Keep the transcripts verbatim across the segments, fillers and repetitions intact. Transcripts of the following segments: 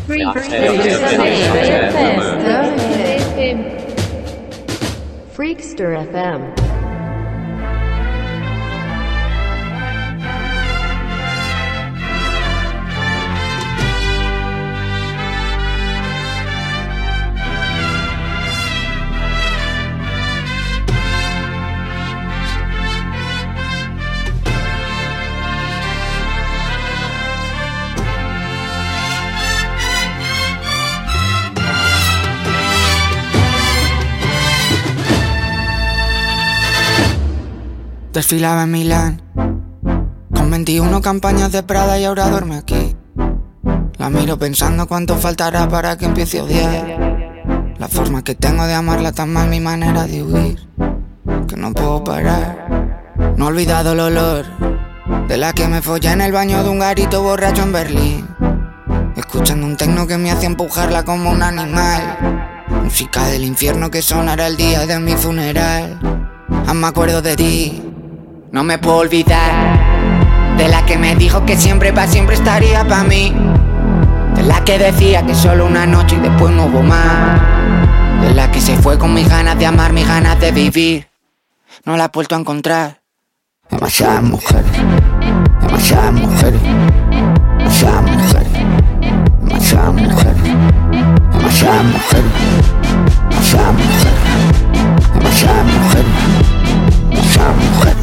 Freakster F M. Desfilaba en Milán con veintiuno campañas de Prada y ahora duerme aquí. La miro pensando cuánto faltará para que empiece a odiar la forma que tengo de amarla, tan mal mi manera de huir, que no puedo parar. No he olvidado el olor de la que me follé en el baño de un garito borracho en Berlín, escuchando un tecno que me hacía empujarla como un animal. Música del infierno que sonará el día de mi funeral. Aún me acuerdo de ti, no me puedo olvidar de la que me dijo que siempre pa' siempre estaría pa' mí, de la que decía que solo una noche y después no hubo más, de la que se fue con mis ganas de amar, mis ganas de vivir. No la he vuelto a encontrar. Demasiadas mujeres, demasiadas mujeres, demasiadas mujeres, demasiadas mujeres, demasiadas mujeres, demasiadas mujeres, demasiadas mujeres, demasiadas mujeres.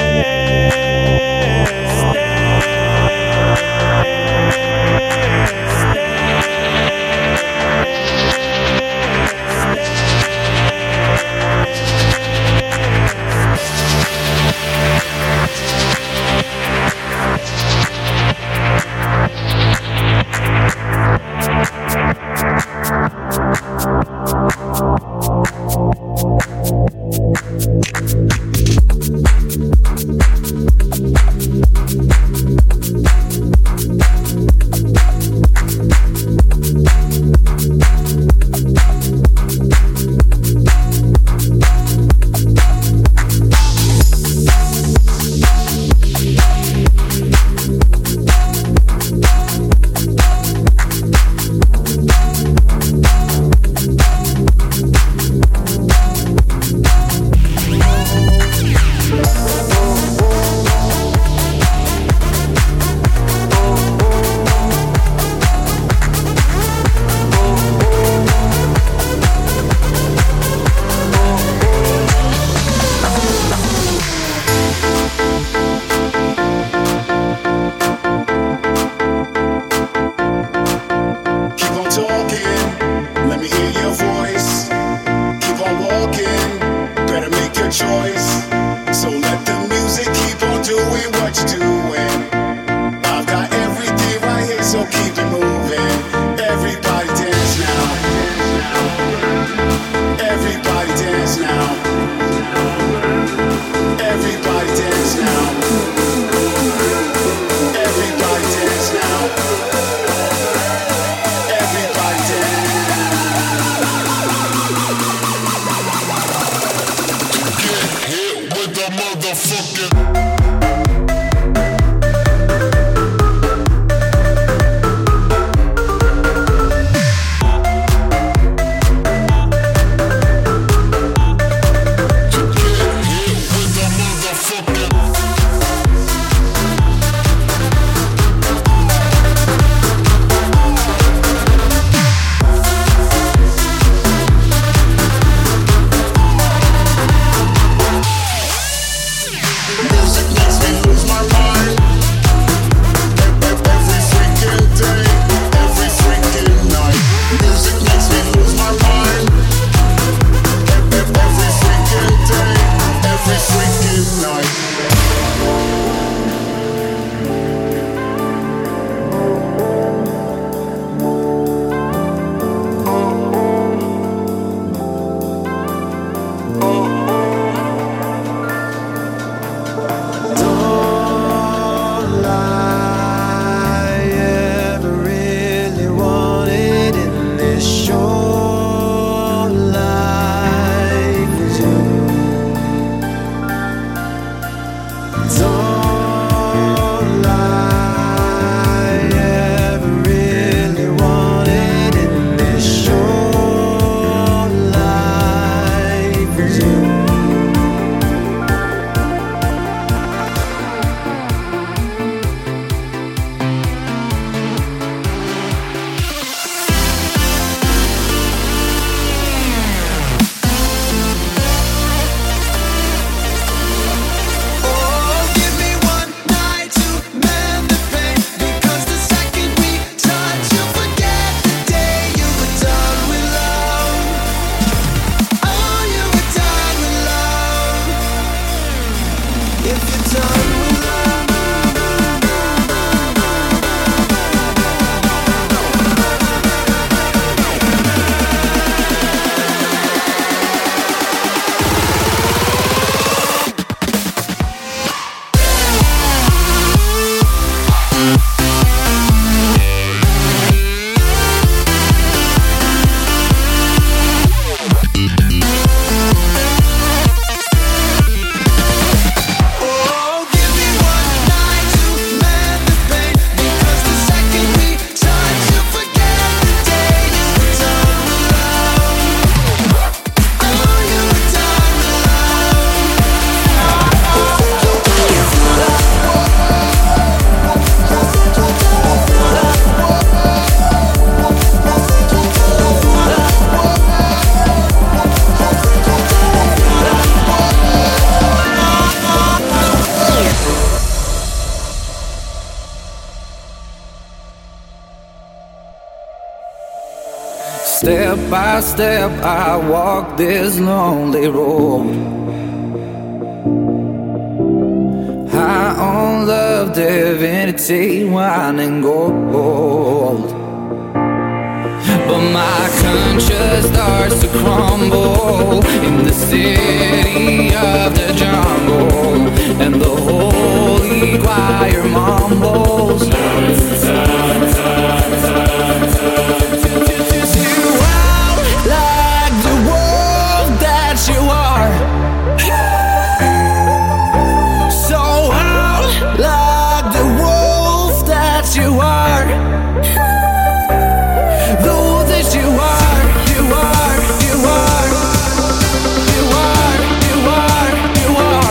Oh, give me one step by step I walk this lonely road. High on love, divinity, wine and gold. But my conscience starts to crumble in the city of the jungle, and the holy choir mumbles. You out like the wolf that you are, so out like the wolf that you are. The wolf that you are, you are, you are, you are, you are, you are.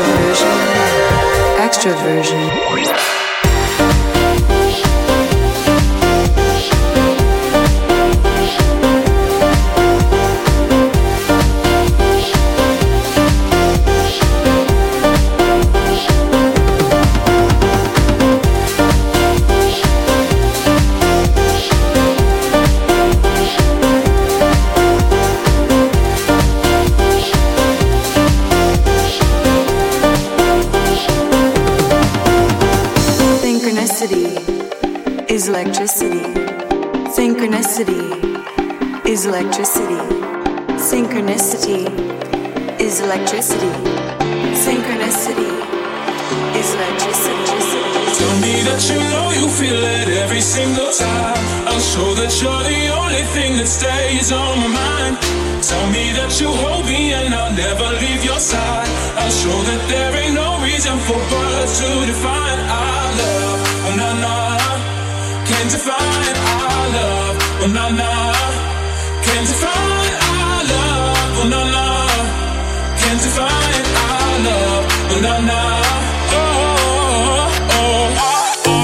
introversion, extroversion. Is electricity. Synchronicity is electricity. Synchronicity is electricity. Synchronicity is electricity. Tell me that you know you feel it every single time. I'll show that you're the only thing that stays on my mind. Tell me that you hold me and I'll never leave your side. I'll show that there ain't no reason for words to define our love. Oh, nah, nah. Can't define our love, oh na na. Can't define our love, oh na na. Can't define our love, oh na na. Oh, oh, oh, oh,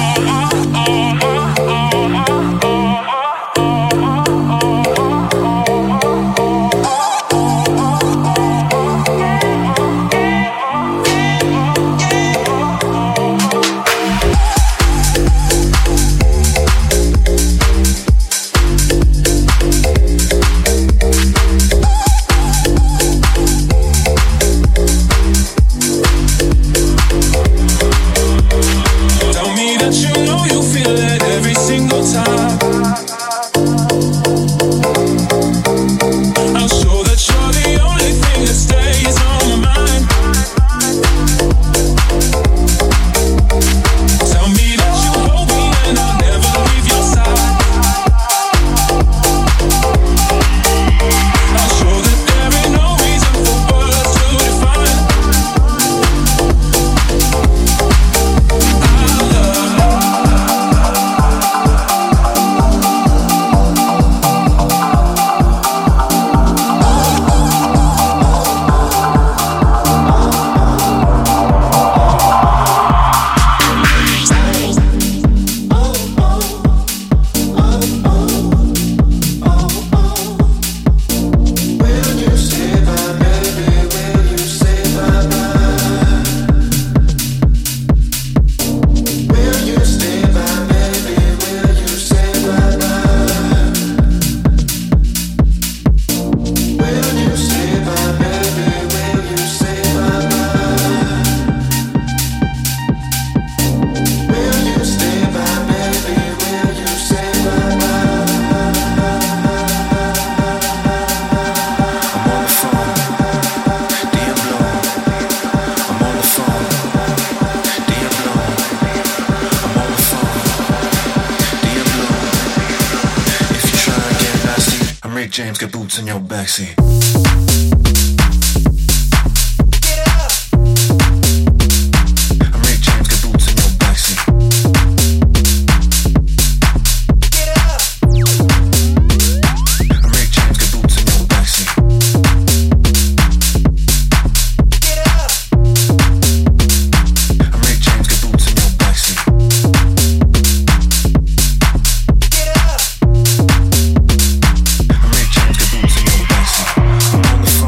James, get boots in your backseat. I'm on the phone.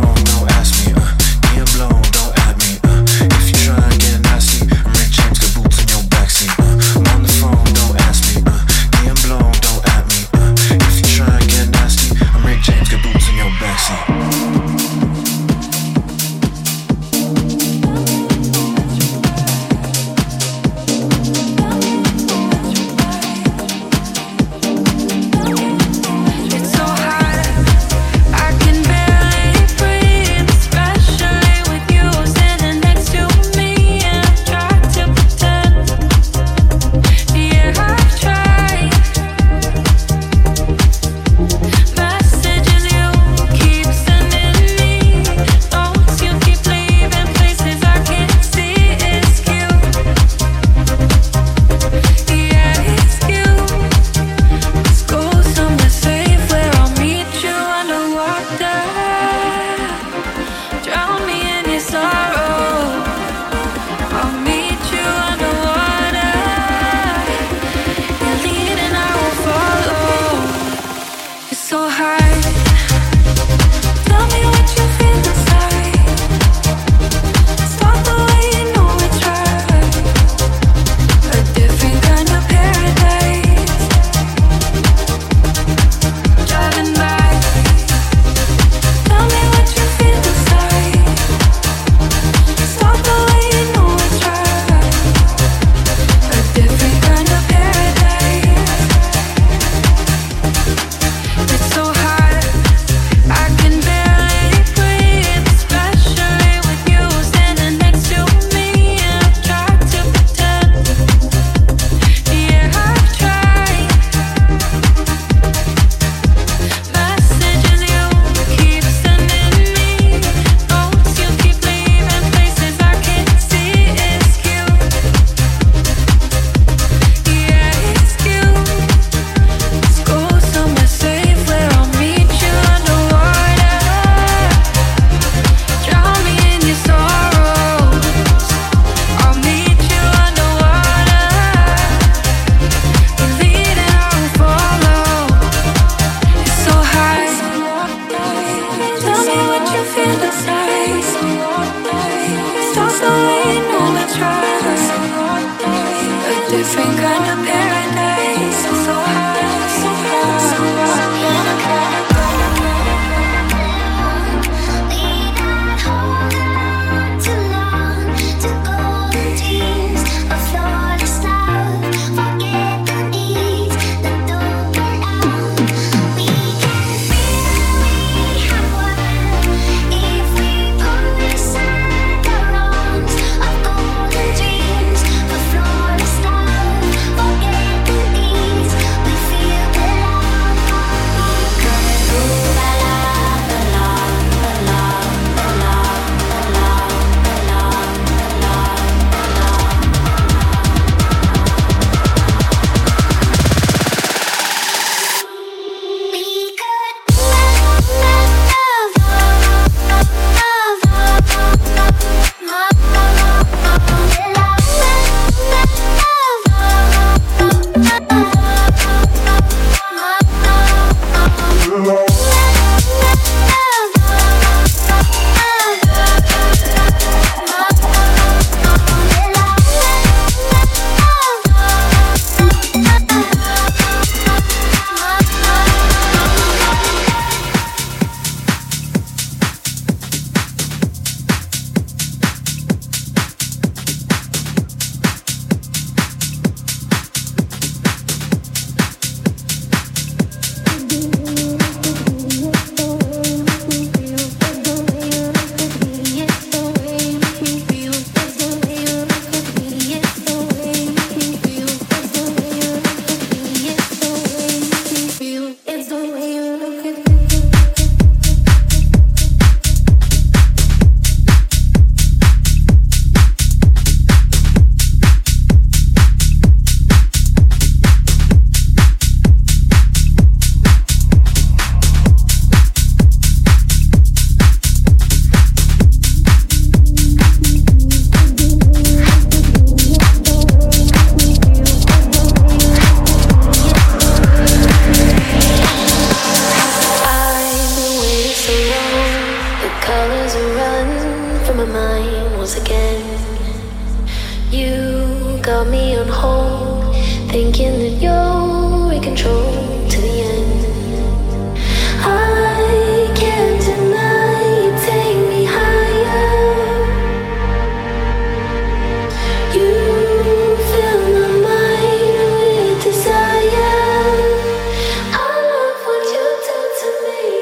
me on hold, thinking that you're in control to the end. I can't deny you take me higher. You fill my mind with desire. I love what you do to me.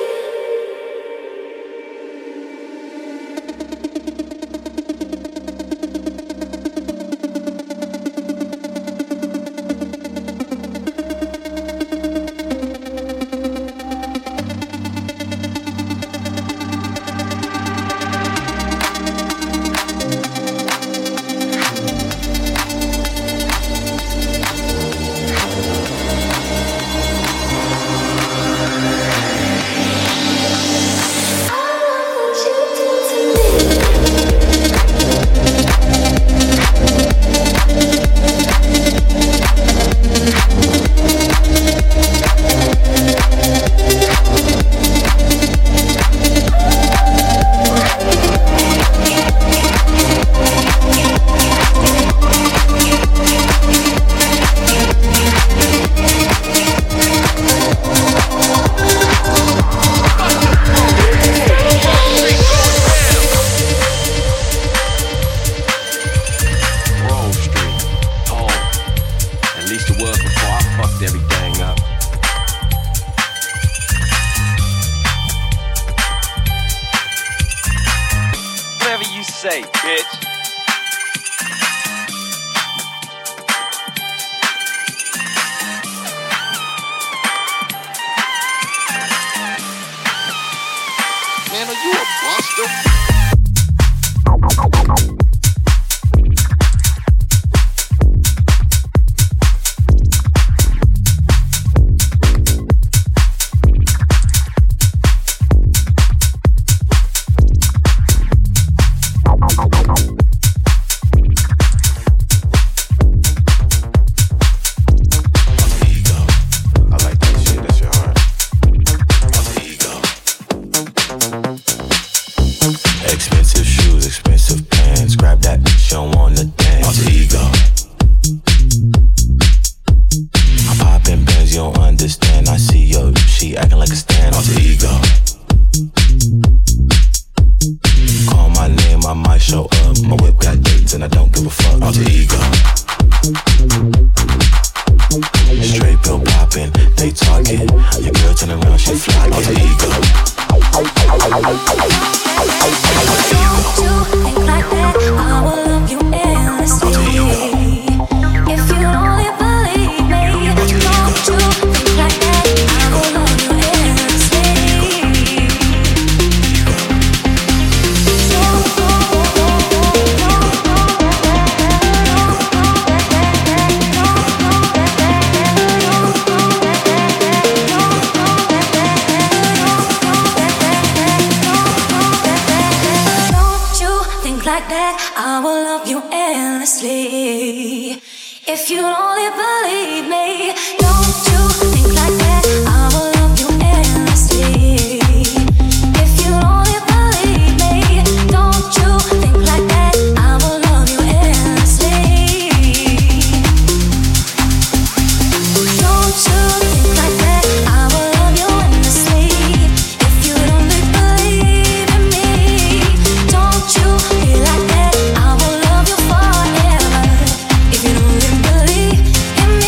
If you don't believe in me,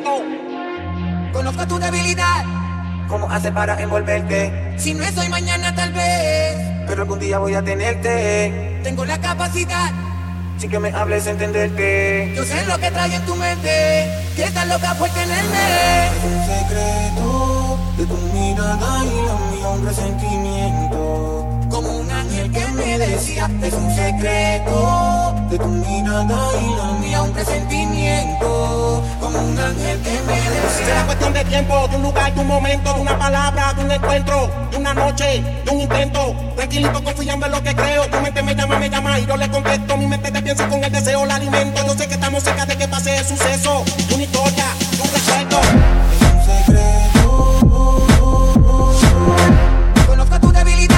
momento. Conozco tu debilidad. ¿Cómo haces para envolverte? Si no es hoy, mañana tal vez, pero algún día voy a tenerte. Tengo la capacidad, sin que me hables, entenderte. Yo sé lo que trae en tu mente, que estás loca por tenerme. Es un secreto de tu mirada y la mía, un presentimiento. Como un ángel que me decía, es un secreto de tu mirada y la mía, un presentimiento. Como un ángel que me decía. Será cuestión de tiempo, de un lugar, de un momento, de una palabra, de un encuentro, de una noche, de un intento. Tranquilito, confiando en lo que creo. Tu mente me llama, me llama y yo le contesto. Mi mente te piensa con el deseo, la alimento. Yo sé que estamos cerca de que pase el suceso. Una historia, un recuerdo. Es un secreto. Conozco tu debilidad.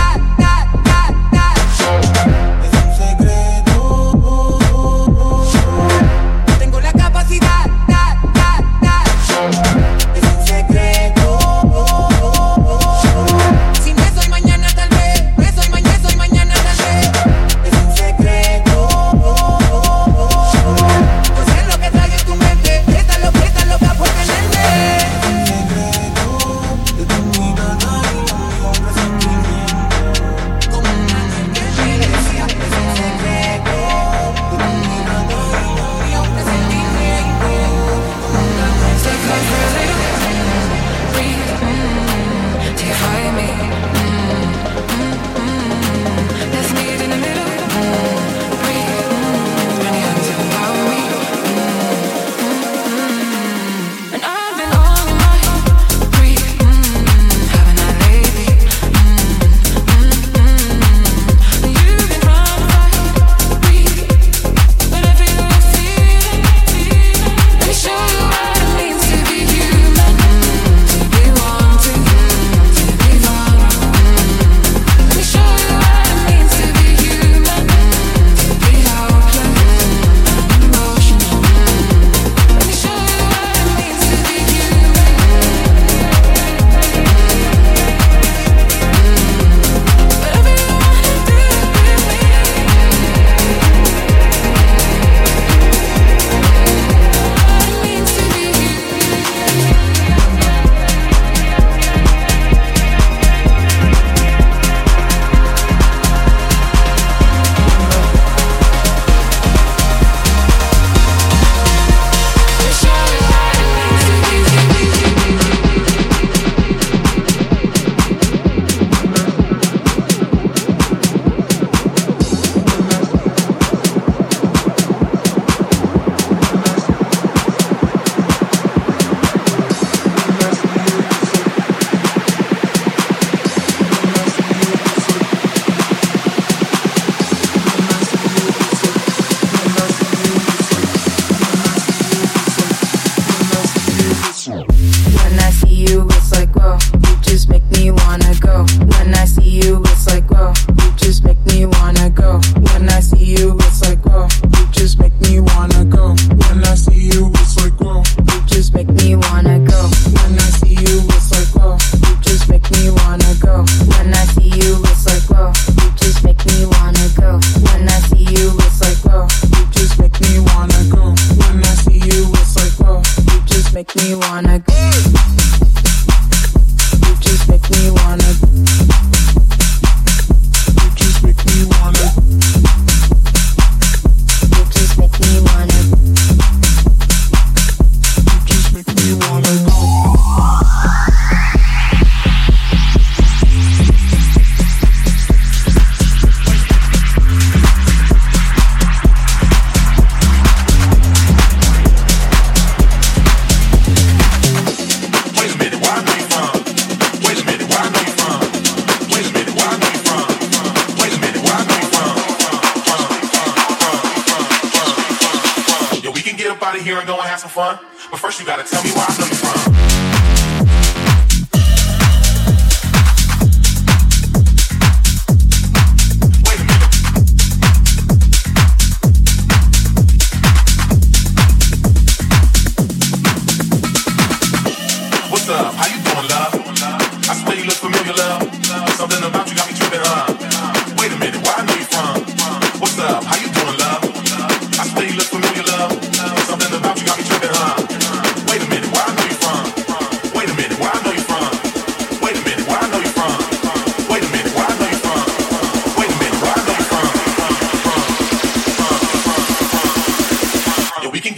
Wait a minute, why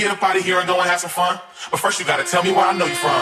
get up out of here and go and have some fun. But first you gotta tell me where I know you from.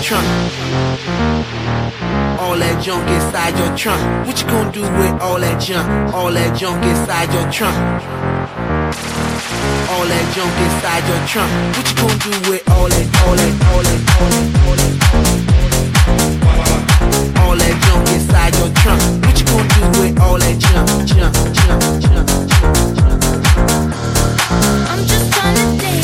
trunk. All that junk inside your trunk. What you gonna do with all that junk? All that junk inside your trunk. All that junk inside your trunk. What you gonna do with all that, all that, all that, all that, all that, all that junk inside your trunk? What you gonna do with all that junk, junk, junk, junk, junk, junk? I'm just trying to dance.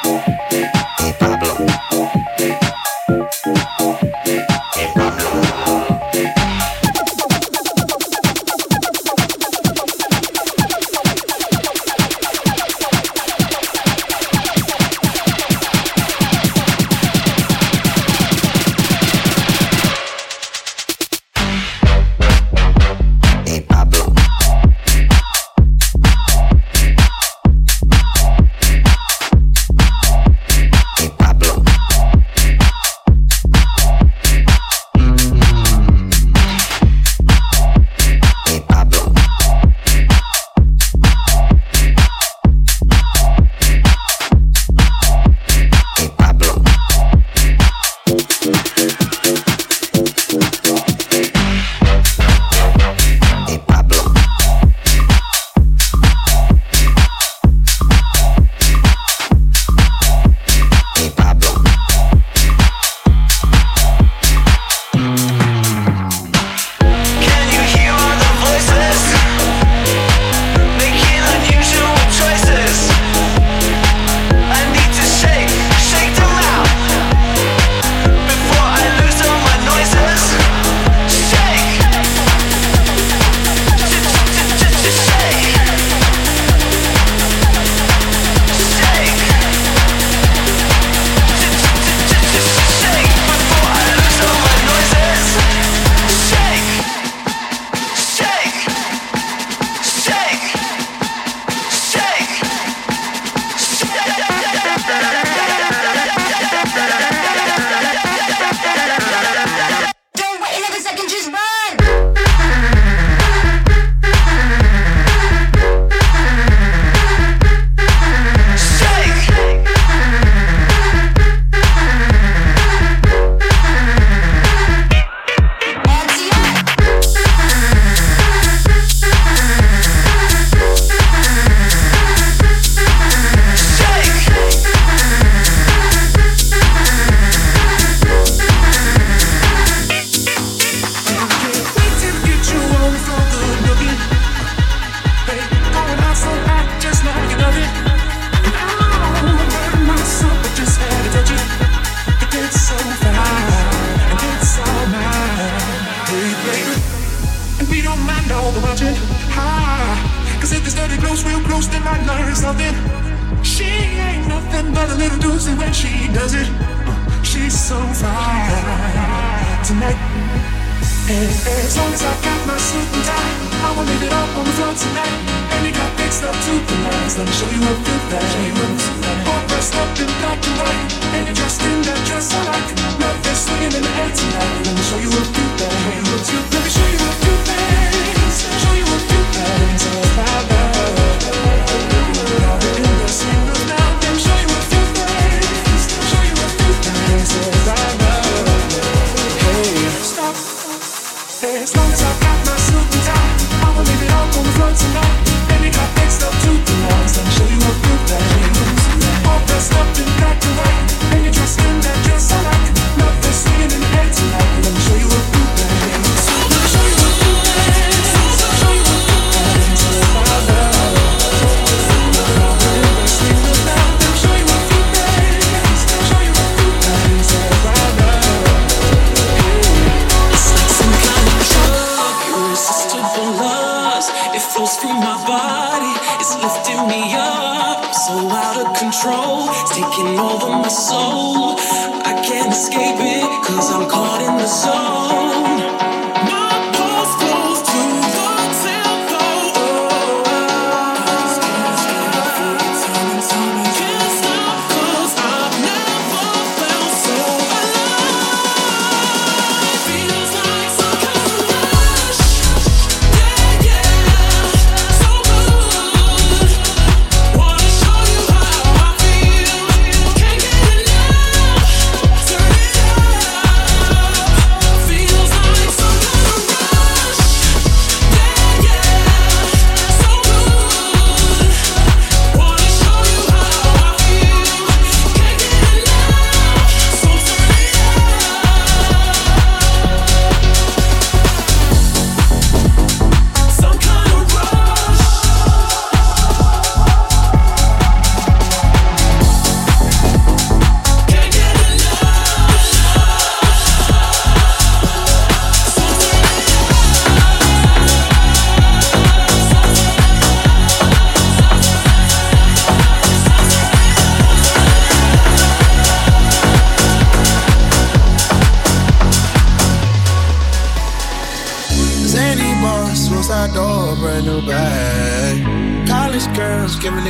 Feel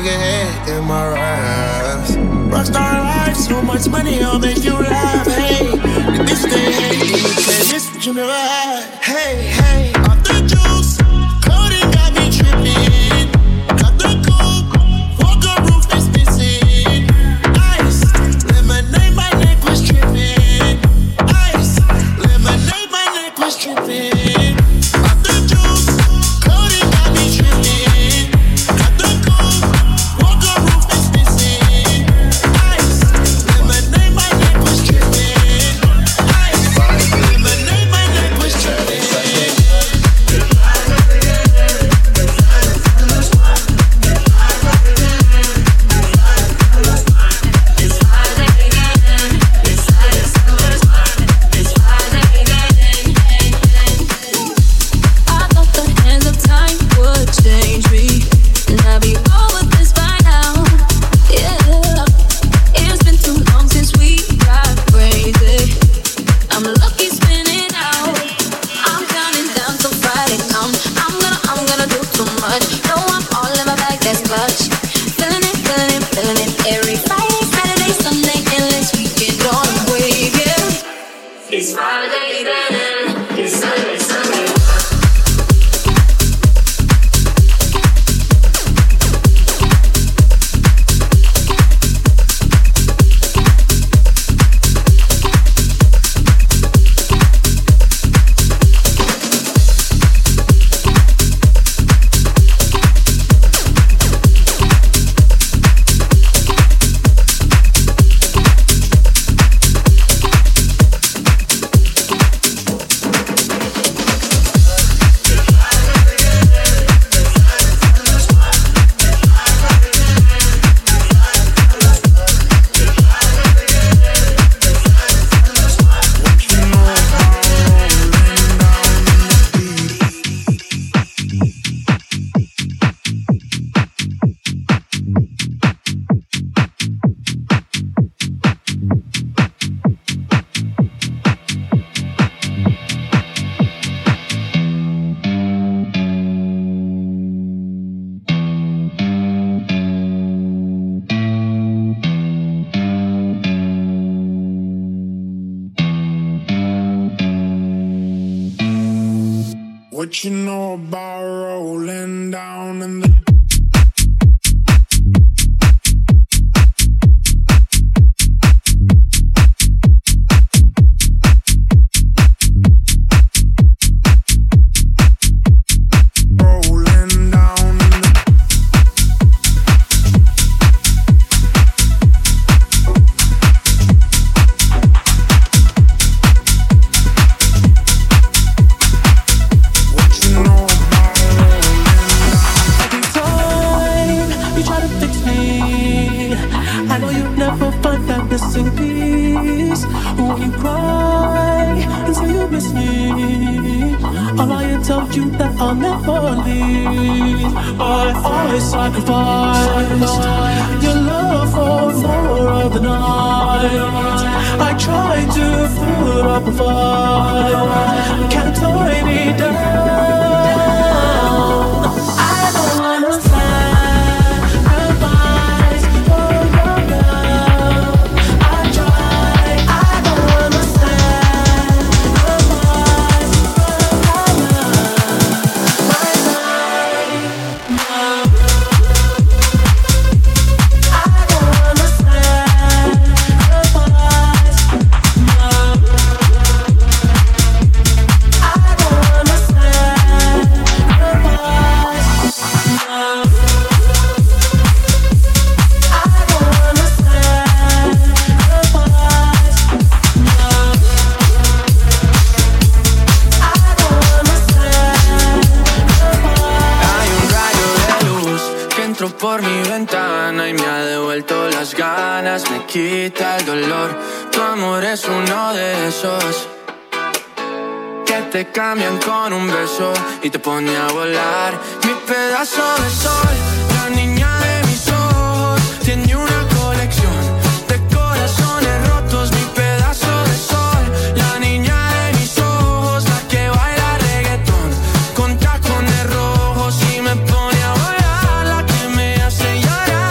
get head in my raps. Rockstar life, so much money, I'll make you laugh. Hey, the bitch they hate, you say this what you never had. Hey, hey, off the juice, coding got me tripping. Got the coupe, walker roof is missing. Ice, lemonade, my neck was tripping. Ice, lemonade, my neck was tripping. Off the juice, coding got me tripping. Got the coupe, walker roof is missing. Ice, lemonade, my neck was tripping. Ice, lemonade, my neck was tripping. What you know about rolling down in the por mi ventana y me ha devuelto las ganas, me quita el dolor. Tu amor es uno de esos que te cambian con un beso y te pone a volar. Mi pedazo de sol, la niña de mis ojos, tiene una colección de corazones rotos. Mi pedazo de sol, la niña de mis ojos, la que baila reggaetón con tacones rojos y me pone a volar, la que me hace llorar.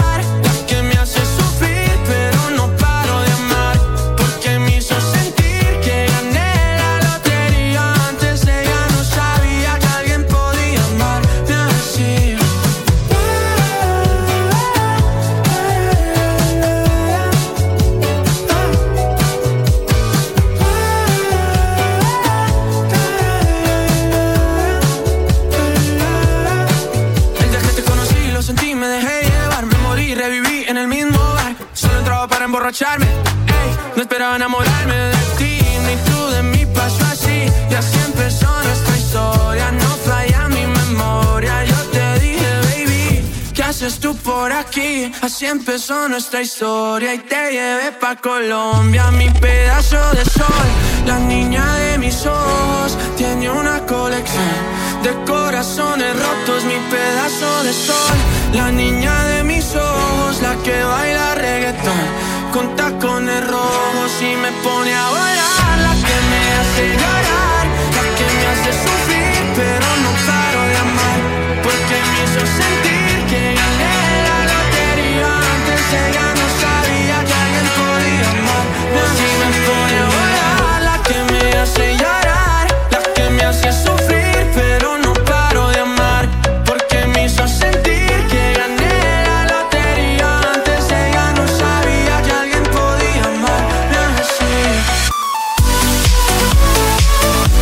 emborracharme. Ey, no esperaba enamorarme de ti, ni tú de mí pasó así. Y así empezó nuestra historia, no falla mi memoria. Yo te dije, baby, ¿qué haces tú por aquí? Así empezó nuestra historia y te llevé pa' Colombia, mi pedazo de sol. La niña de mis ojos tiene una colección de corazones rotos, mi pedazo de sol. La niña de mis ojos, la que baila reggaetón con tacones rojos y me pone a volar. La que me hace llorar, la que me hace sufrir, pero no paro de amar, porque me hizo sentir que gané la lotería. Antes ella no sabía que alguien podía amar. Así me pone a volar, la que me hace llorar, la que me hace sufrir, pero no paro de amar, porque me hizo sentir que gané la lotería. Antes ella no sabía que alguien podía amar así.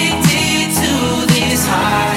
addicted to this high.